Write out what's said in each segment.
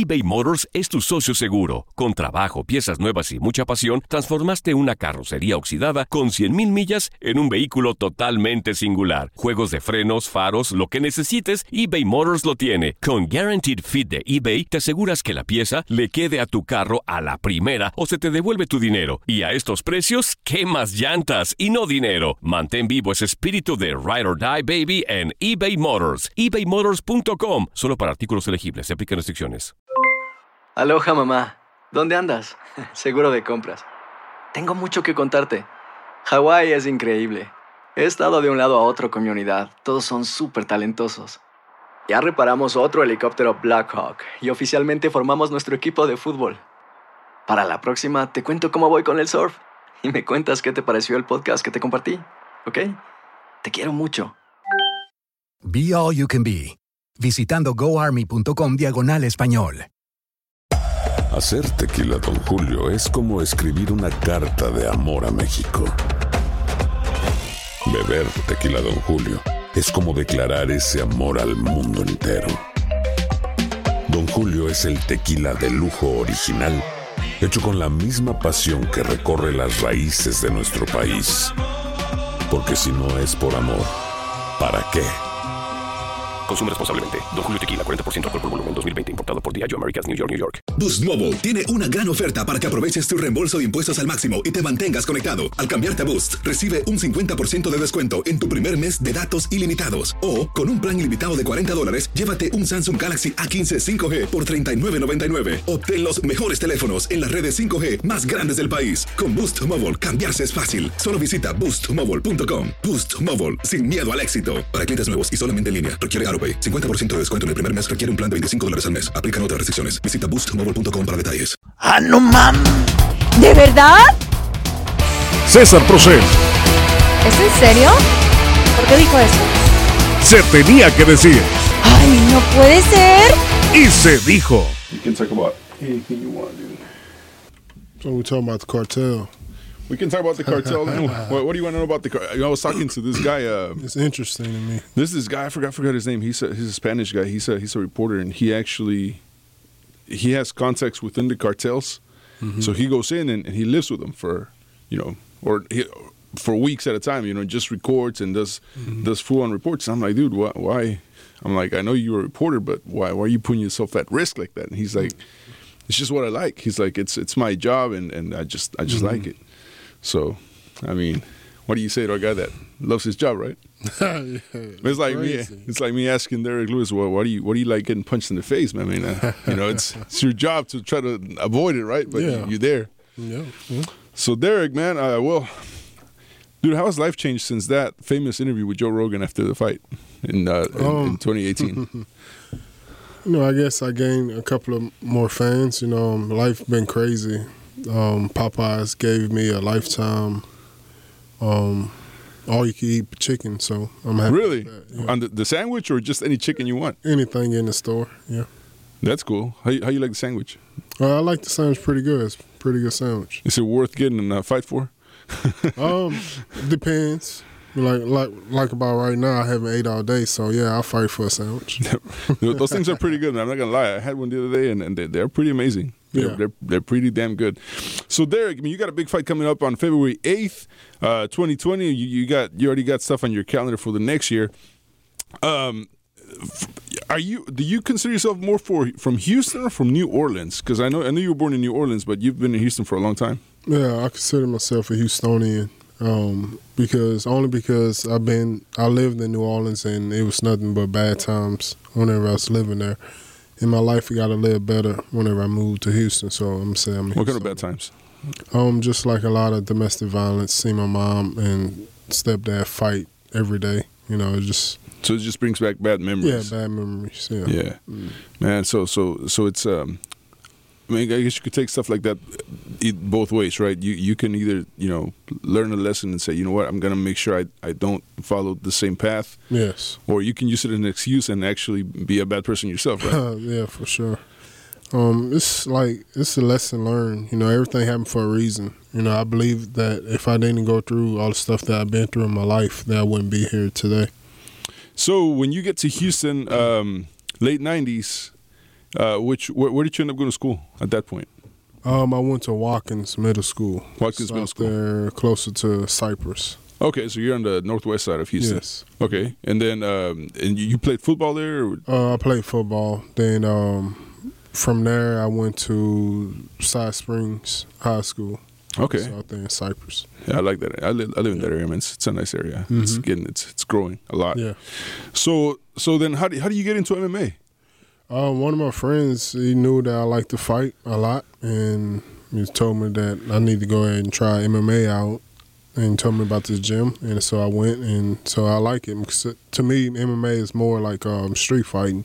eBay Motors es tu socio seguro. Con trabajo, piezas nuevas y mucha pasión, transformaste una carrocería oxidada con 100,000 millas en un vehículo totalmente singular. Juegos de frenos, faros, lo que necesites, eBay Motors lo tiene. Con Guaranteed Fit de eBay, te aseguras que la pieza le quede a tu carro a la primera o se te devuelve tu dinero. Y a estos precios, ¿qué más llantas y no dinero? Mantén vivo ese espíritu de Ride or Die, baby, en eBay Motors. ebaymotors.com. Solo para artículos elegibles. Se aplican restricciones. Aloha, mamá. ¿Dónde andas? Seguro de compras. Tengo mucho que contarte. Hawái es increíble. He estado de un lado a otro con mi unidad. Todos son súper talentosos. Ya reparamos otro helicóptero Blackhawk y oficialmente formamos nuestro equipo de fútbol. Para la próxima te cuento cómo voy con el surf y me cuentas qué te pareció el podcast que te compartí, ¿ok? Te quiero mucho. Be All You Can Be, visitando goarmy.com/español. Hacer tequila Don Julio es como escribir una carta de amor a México. Beber tequila Don Julio es como declarar ese amor al mundo entero. Don Julio es el tequila de lujo original, hecho con la misma pasión que recorre las raíces de nuestro país. Porque si no es por amor, ¿para qué? Consume responsablemente. Don Julio Tequila, 40% alcohol por volumen, 2020. Importado por Diageo Americas, New York, New York. Boost Mobile tiene una gran oferta para que aproveches tu reembolso de impuestos al máximo y te mantengas conectado. Al cambiarte a Boost, recibe un 50% de descuento en tu primer mes de datos ilimitados. O, con un plan ilimitado de $40, llévate un Samsung Galaxy A15 5G por $39.99. Obtén los mejores teléfonos en las redes 5G más grandes del país. Con Boost Mobile, cambiarse es fácil. Solo visita boostmobile.com. Boost Mobile, sin miedo al éxito. Para clientes nuevos y solamente en línea, requiere AroPay. 50% de descuento en el primer mes, requiere un plan de $25 al mes. Aplican otras restricciones. Visita boostmobile.com para detalles. ¡Ah, no mames! ¿De verdad? César Procel. ¿Es en serio? ¿Por qué dijo eso? Se tenía que decir. ¡Ay, no puede ser! Y se dijo. You can talk about anything you want, dude. So we're talking about the cartel. We can talk about the cartel. What do you want to know about the cartel? I was talking to this guy. It's interesting to me. This guy. I forgot his name. He's a Spanish guy. He's a reporter, and he has contacts within the cartels. Mm-hmm. So he goes in and he lives with them for weeks at a time. Just records and does full-on reports. And I'm like, dude, why? I'm like, I know you're a reporter, but why are you putting yourself at risk like that? And he's like, it's just what I like. He's like, it's my job, and I just like it. So, I mean, what do you say to a guy that loves his job, right? Yeah, it's like crazy. It's like me asking Derek Lewis, well, what do you like getting punched in the face, man? I mean, it's your job to try to avoid it, right? But you're there. Yeah. So, Derek, man, dude, how has life changed since that famous interview with Joe Rogan after the fight in 2018? I guess I gained a couple of more fans. Life been crazy. Popeyes gave me a lifetime all-you-can-eat chicken, so I'm happy. Really? With that, yeah. On the sandwich or just any chicken you want? Anything in the store, yeah. That's cool. How you like the sandwich? I like the sandwich pretty good. It's a pretty good sandwich. Is it worth getting in a fight for? Depends. Like about right now, I haven't ate all day, so yeah, I'll fight for a sandwich. Those things are pretty good, man. I'm not gonna lie. I had one the other day, and they're pretty amazing. They're pretty damn good. So Derek, I mean, you got a big fight coming up on February 8th, 2020. You already got stuff on your calendar for the next year. Do you consider yourself more from Houston or from New Orleans? Because I know you were born in New Orleans, but you've been in Houston for a long time. Yeah, I consider myself a Houstonian. Because I lived in New Orleans, and it was nothing but bad times whenever I was living there. In my life, I got a little better whenever I moved to Houston, so I'm saying. What kind of bad times? Just like a lot of domestic violence. See my mom and stepdad fight every day. So it just brings back bad memories. Yeah, bad memories. Yeah. Yeah, man. So it's I mean, I guess you could take stuff like that both ways, right? You can either, learn a lesson and say, you know what, I'm going to make sure I don't follow the same path. Yes. Or you can use it as an excuse and actually be a bad person yourself, right? Yeah, for sure. It's a lesson learned. Everything happened for a reason. I believe that if I didn't go through all the stuff that I've been through in my life, that I wouldn't be here today. So when you get to Houston, late 90s, Where did you end up going to school at that point? I went to Watkins Middle School. Watkins Middle School. There, closer to Cypress. Okay, so you're on the northwest side of Houston. Yes. Okay, and then and you played football there? Or? I played football. Then from there, I went to Side Springs High School. Okay. So out there in Cypress. Yeah, I like that. I live in that area, man. It's a nice area. Mm-hmm. It's growing a lot. Yeah. So then how do you get into MMA? One of my friends, he knew that I like to fight a lot, and he told me that I need to go ahead and try MMA out, and told me about this gym, and so I went, and so I like it. Because to me, MMA is more like street fighting.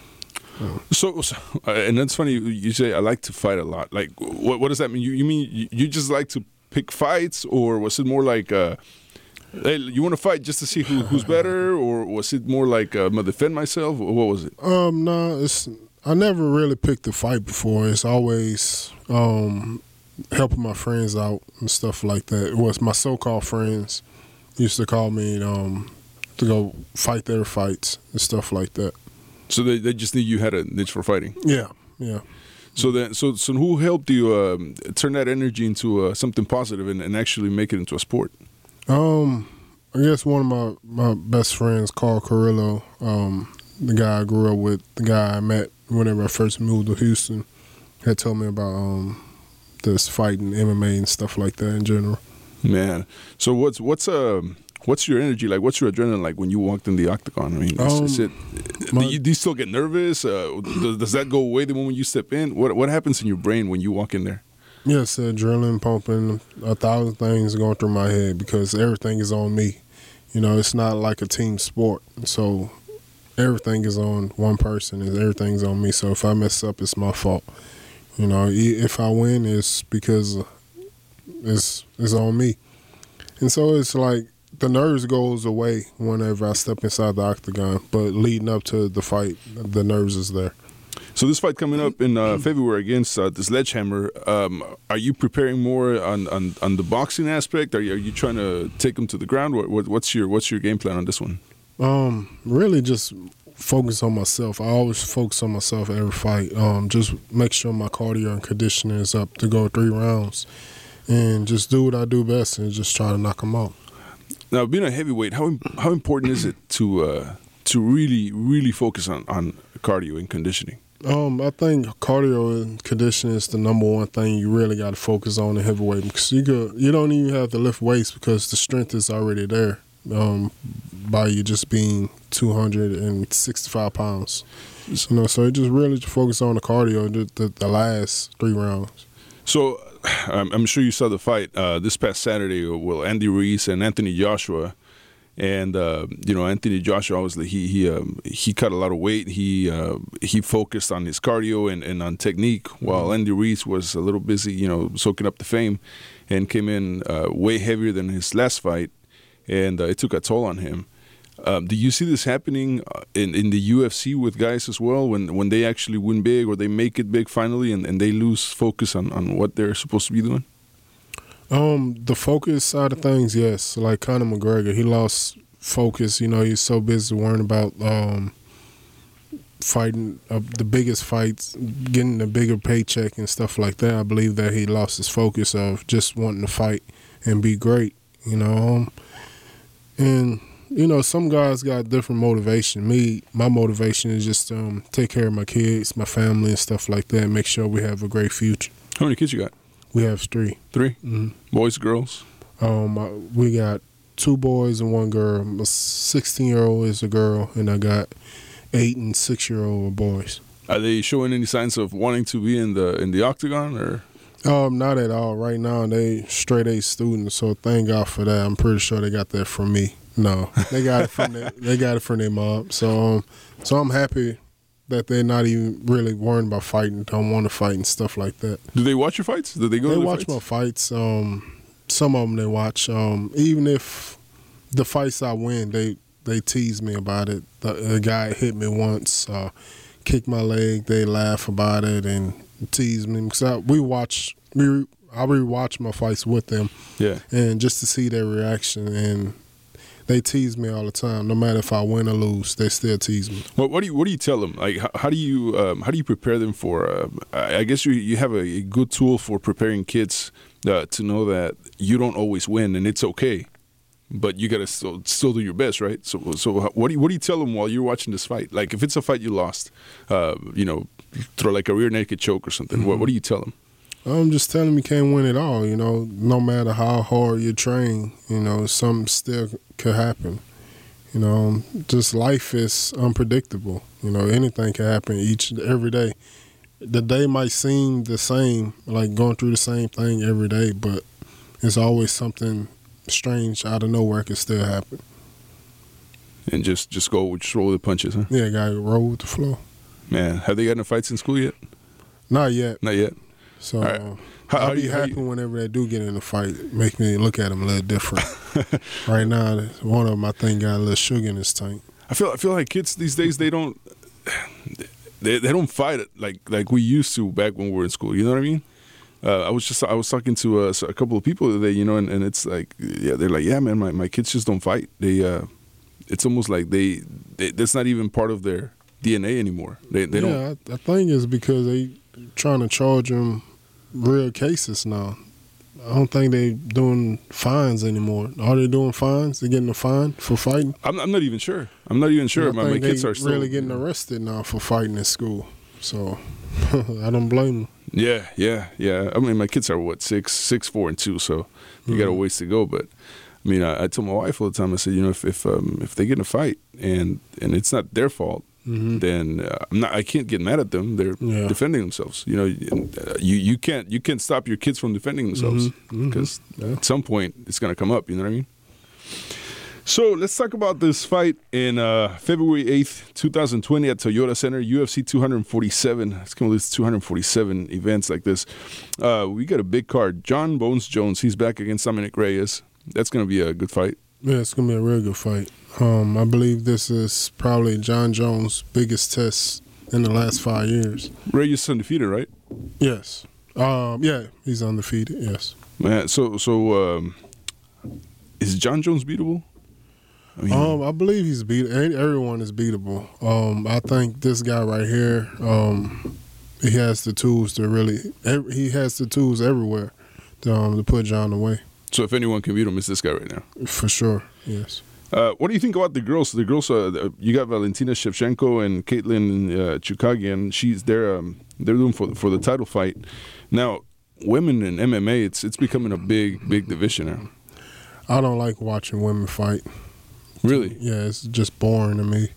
So, and that's funny. You say I like to fight a lot. Like, what does that mean? You mean you just like to pick fights, or was it more like hey, you want to fight just to see who's better, or was it more like I'm gonna defend myself, or what was it? No, I never really picked a fight before. It's always helping my friends out and stuff like that. It was my so-called friends used to call me to go fight their fights and stuff like that. So they just knew you had a niche for fighting. Yeah. So who helped you turn that energy into something positive and actually make it into a sport? I guess one of my best friends, Carl Carrillo, the guy I grew up with, the guy I met whenever I first moved to Houston, had told me about this fighting, MMA, and stuff like that in general. Man, so what's your energy like? What's your adrenaline like when you walked in the octagon? I mean, do you still get nervous? Does that go away the moment you step in? What happens in your brain when you walk in there? Yes, adrenaline pumping, 1,000 things going through my head because everything is on me. You know, it's not like a team sport. So everything is on one person and everything's on me. So if I mess up, it's my fault. You know, if I win, it's because it's on me. And so it's like the nerves goes away whenever I step inside the octagon. But leading up to the fight, the nerves is there. So this fight coming up in February against the Sledgehammer, are you preparing more on the boxing aspect? Are you trying to take them to the ground? What's your game plan on this one? Really just focus on myself. I always focus on myself every fight. Just make sure my cardio and conditioning is up to go 3 rounds, and just do what I do best and just try to knock them out. Now, being a heavyweight, how important is it to really focus on cardio and conditioning? I think cardio and conditioning is the number one thing you really got to focus on in heavyweight because you don't even have to lift weights because the strength is already there by you just being 265 pounds. You know, so you just really focus on the cardio the last 3 rounds. So I'm sure you saw the fight this past Saturday with Andy Ruiz and Anthony Joshua. And Anthony Joshua, obviously, he cut a lot of weight. He focused on his cardio and on technique, while Andy Ruiz was a little busy, soaking up the fame, and came in way heavier than his last fight, and it took a toll on him. Do you see this happening in the UFC with guys as well, when they actually win big or they make it big finally, and they lose focus on what they're supposed to be doing? The focus side of things, yes. Like Conor McGregor, he lost focus. He's so busy worrying about fighting the biggest fights, getting a bigger paycheck and stuff like that. I believe that he lost his focus of just wanting to fight and be great, And, some guys got different motivation. My motivation is just take care of my kids, my family and stuff like that, and make sure we have a great future. How many kids you got? We have 3. 3? Mm-hmm. Boys, girls? We got 2 boys and 1 girl. My 16-year-old is a girl, and I got 8 and 6-year-old boys. Are they showing any signs of wanting to be in the octagon, or? Not at all. Right now, they straight A students, so thank God for that. I'm pretty sure they got that from me. No, they got it from their mom. So I'm happy that they're not even really worrying about fighting, don't want to fight and stuff like that. Do they watch your fights? Do they go to the fights? They watch my fights. Some of them they watch. Even if the fights I win, they tease me about it. The guy hit me once, kicked my leg. They laugh about it and tease me. Because I rewatch my fights with them. Yeah. And just to see their reaction. And they tease me all the time. No matter if I win or lose, they still tease me. Well, what do you tell them? Like, how do you prepare them for? I guess you have a good tool for preparing kids to know that you don't always win and it's okay, but you gotta still do your best, right? So what do you tell them while you're watching this fight? Like, if it's a fight you lost, throw like a rear naked choke or something. Mm-hmm. What do you tell them? I'm just telling them you can't win it all. No matter how hard you train, something still could happen. Just life is unpredictable. Anything can happen every day. The day might seem the same, like going through the same thing every day, but it's always something strange out of nowhere can still happen. And just roll with the punches, huh? Yeah, gotta roll with the flow. Man, have they gotten in fights in school yet? Not yet. Not yet. So right. I'll be happy whenever they do get in a fight. Make me look at them a little different. Right now, one of them I think got a little sugar in his tank. I feel like kids these days they don't fight it like we used to back when we were in school. You know what I mean? I was talking to a couple of people today, and it's like, yeah, they're like, yeah, man, my kids just don't fight. It's almost like they that's not even part of their DNA anymore. They don't. I think it's because they trying to charge them real cases now. I don't think they doing fines anymore. Are they doing fines? They getting a fine for fighting? I'm not even sure. My kids are still really getting arrested now for fighting in school. So I don't blame them. Yeah. I mean, my kids are 6, 4, and 2, so they got a ways to go. But I mean, I told my wife all the time. I said, if they get in a fight and it's not their fault, then I can't get mad at them. They're defending themselves. You can't stop your kids from defending themselves because at some point it's gonna come up. You know what I mean? So let's talk about this fight in February 8th, 2020 at Toyota Center, UFC 247. It's going to lose 247 events like this. We got a big card. John Bones Jones, he's back against Dominic Reyes. That's going to be a good fight. Yeah, it's going to be a real good fight. I believe this is probably John Jones' biggest test in the last 5 years. Reyes is undefeated, right? Yes. Yeah, he's undefeated, yes. Man, so is John Jones beatable? I believe he's beatable. Everyone is beatable. I think this guy right here, he has the tools to he has the tools everywhere to put John away. So if anyone can beat him, it's this guy right now. For sure, yes. What do you think about the girls? The girls, you got Valentina Shevchenko and Caitlin Chukagian. They're doing for the title fight. Now, women in MMA, it's becoming a big division now. I don't like watching women fight. Really? Yeah, it's just boring to me.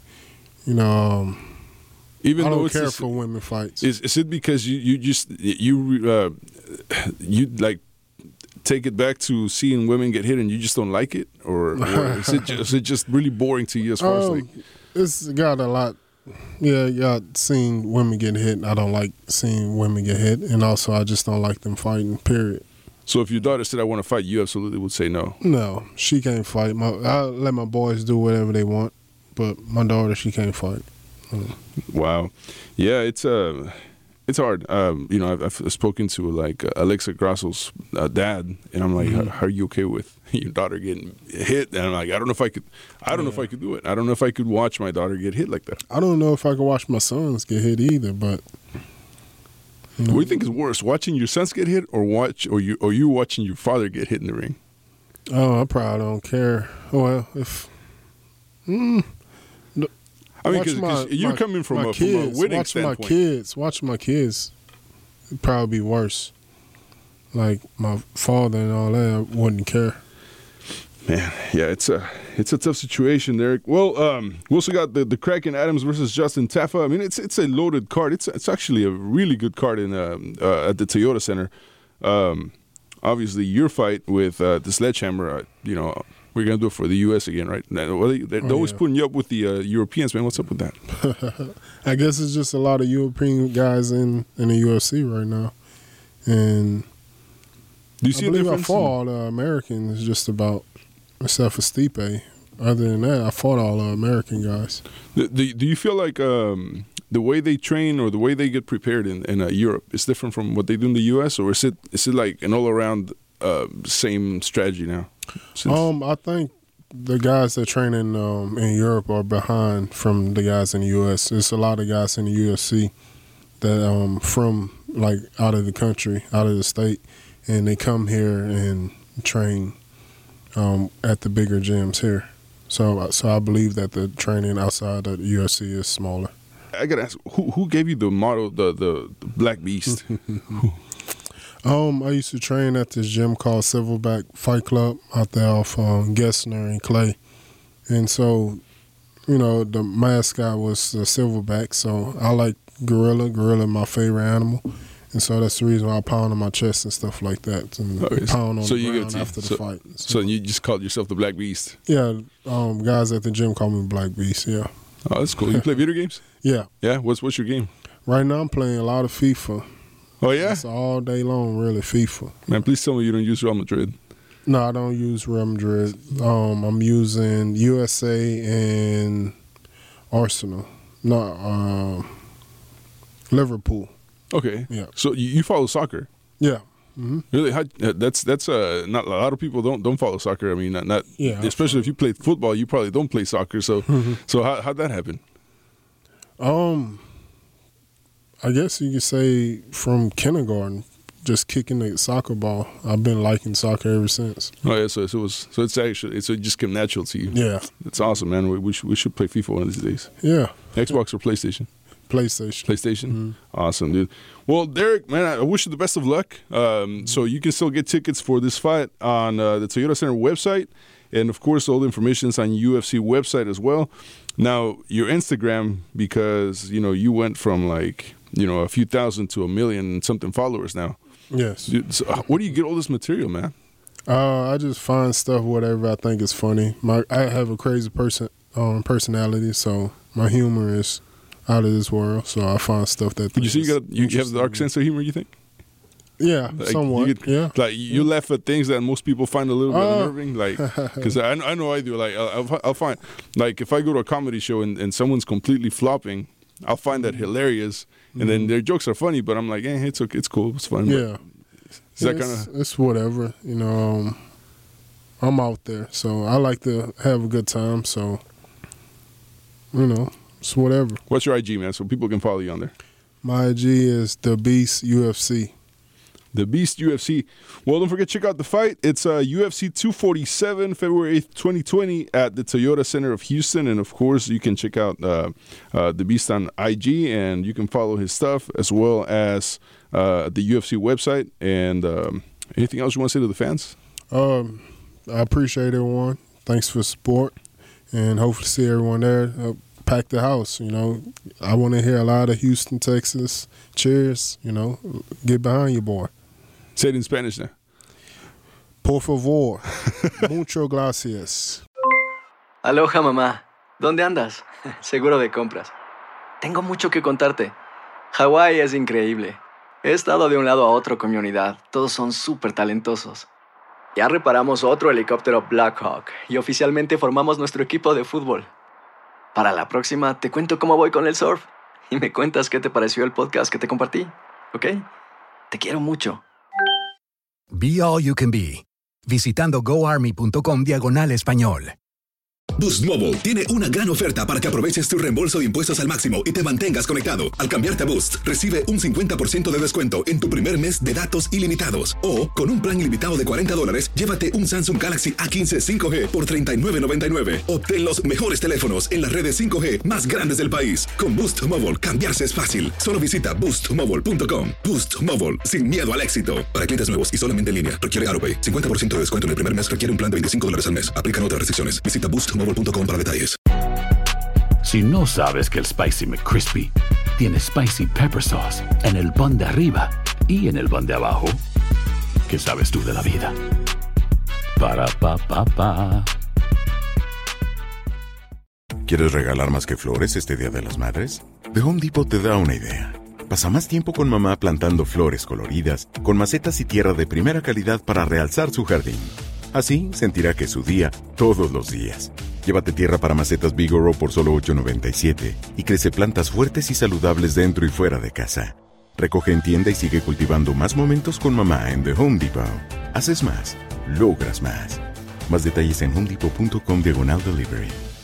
Even I though don't care for women fights. Is it because you like take it back to seeing women get hit and you just don't like it, or is it just really boring to you as far as like? It's got a lot. Yeah, seeing women get hit. I don't like seeing women get hit, and also I just don't like them fighting. Period. So if your daughter said, I want to fight, you absolutely would say no? No, she can't fight. I let my boys do whatever they want, but my daughter, she can't fight. Wow. Yeah, it's hard. I've spoken to like Alexa Grasso's dad, and I'm like, how are you okay with your daughter getting hit? And I'm like, I don't know if I could do it. I don't know if I could watch my daughter get hit like that. I don't know if I could watch my sons get hit either, but... What do you think is worse, watching your sons get hit, or you watching your father get hit in the ring? Oh, I probably don't care. Well, if I mean, because you're coming from a winning standpoint. Watching my kids, it'd probably be worse. Like my father and all that, I wouldn't care. Man, yeah, it's a tough situation, Derek. Well, we also got the Kraken Adams versus Justin Tafa. I mean, it's a loaded card. It's actually a really good card in at the Toyota Center. Obviously, your fight with the Sledgehammer. We're gonna do it for the U.S. again, right? They're always putting you up with the Europeans, man. What's up with that? I guess it's just a lot of European guys in the UFC right now, and do you see I believe I fought all the Americans just about. Except for Stipe. Other than that, I fought all the American guys. Do you feel like the way they train or the way they get prepared in Europe is different from what they do in the U.S., or is it like an all-around same strategy now? I think the guys that train in Europe are behind from the guys in the U.S. There's a lot of guys in the UFC that from like out of the country, out of the state, and they come here and train at the bigger gyms here. So I believe that the training outside of the UFC is smaller. I gotta ask, who gave you the motto, the Black Beast? I used to train at this gym called Silverback Fight Club out there off Gessner and Clay. And so, you know, the mascot was the Silverback. So I like gorilla. Gorilla my favorite animal. And so that's the reason why I pound on my chest and stuff like that. And pound on the ground after the fight. So you just called yourself the Black Beast? Yeah. Guys at the gym call me Black Beast, yeah. Oh, that's cool. You play video games? Yeah. Yeah? What's your game? Right now I'm playing a lot of FIFA. Oh, yeah? It's all day long, really, FIFA. Man, please tell me you don't use Real Madrid. No, I don't use Real Madrid. I'm using USA and Arsenal. No, Liverpool. Okay. Yeah. So you follow soccer? Yeah. Mm-hmm. Really? That's not a lot of people don't follow soccer. I mean, not yeah, especially if you play football, you probably don't play soccer. So so how'd that happen? I guess you could say from kindergarten, just kicking the soccer ball. I've been liking soccer ever since. Oh yeah, so it just came natural to you. Yeah, it's awesome, man. We should play FIFA one of these days. Yeah, Xbox or PlayStation. PlayStation. Mm-hmm. Awesome, dude. Well, Derek, man, I wish you the best of luck. So you can still get tickets for this fight on the Toyota Center website. And, of course, all the information is on UFC website as well. Now, your Instagram, because, you know, you went from, like, you know, a few thousand to 1 million and something followers now. Yes. Dude, so where do you get all this material, man? I just find stuff, whatever I think is funny. I have a crazy personality, so my humor is out of this world. So I find stuff that. You see, you have the dark sense of humor, you think? Yeah, like, somewhat. Yeah, like you laugh at things that most people find a little bit unnerving. Like, because I know I do. Like, I'll find, like, if I go to a comedy show and someone's completely flopping, I'll find that hilarious, and then their jokes are funny. But I'm like, it's okay, it's cool, it's fun. Yeah, it's whatever. You know, I'm out there, so I like to have a good time. So, you know, it's whatever. What's your IG, man? So people can follow you on there. My IG is The Beast UFC. The Beast UFC. Well, don't forget to check out the fight. It's UFC 247, February 8th, 2020 at the Toyota Center of Houston. And, of course, you can check out The Beast on IG, and you can follow his stuff as well as the UFC website. And anything else you want to say to the fans? I appreciate everyone. Thanks for the support, and hopefully see everyone there. Pack the house, you know. I want to hear a lot of Houston, Texas cheers, you know. Get behind your boy. Say it in Spanish now. Por favor. Muchas gracias. Aloha, mamá. ¿Dónde andas? Seguro de compras. Tengo mucho que contarte. Hawái es increíble. He estado de un lado a otro con mi unidad. Todos son súper talentosos. Ya reparamos otro helicóptero Blackhawk y oficialmente formamos nuestro equipo de fútbol. Para la próxima te cuento cómo voy con el surf y me cuentas qué te pareció el podcast que te compartí, ¿ok? Te quiero mucho. Be All You Can Be, visitando goarmy.com/español. Boost Mobile tiene una gran oferta para que aproveches tu reembolso de impuestos al máximo y te mantengas conectado. Al cambiarte a Boost, recibe un 50% de descuento en tu primer mes de datos ilimitados. O, con un plan ilimitado de $40, llévate un Samsung Galaxy A15 5G por $39.99. Obtén los mejores teléfonos en las redes 5G más grandes del país. Con Boost Mobile, cambiarse es fácil. Solo visita boostmobile.com. Boost Mobile, sin miedo al éxito. Para clientes nuevos y solamente en línea, requiere AutoPay. 50% de descuento en el primer mes requiere un plan de $25 al mes. Aplican otras restricciones. Visita boostmobile.com para detalles. Si no sabes que el Spicy McCrispy tiene Spicy Pepper Sauce en el pan de arriba y en el pan de abajo, ¿qué sabes tú de la vida? Para, pa, pa, pa. ¿Quieres regalar más que flores este Día de las Madres? The Home Depot te da una idea. Pasa más tiempo con mamá plantando flores coloridas, con macetas y tierra de primera calidad para realzar su jardín. Así sentirá que es su día todos los días. Llévate tierra para macetas Bigoro por solo $8.97 y crece plantas fuertes y saludables dentro y fuera de casa. Recoge en tienda y sigue cultivando más momentos con mamá en The Home Depot. Haces más, logras más. Más detalles en homedepot.com/delivery.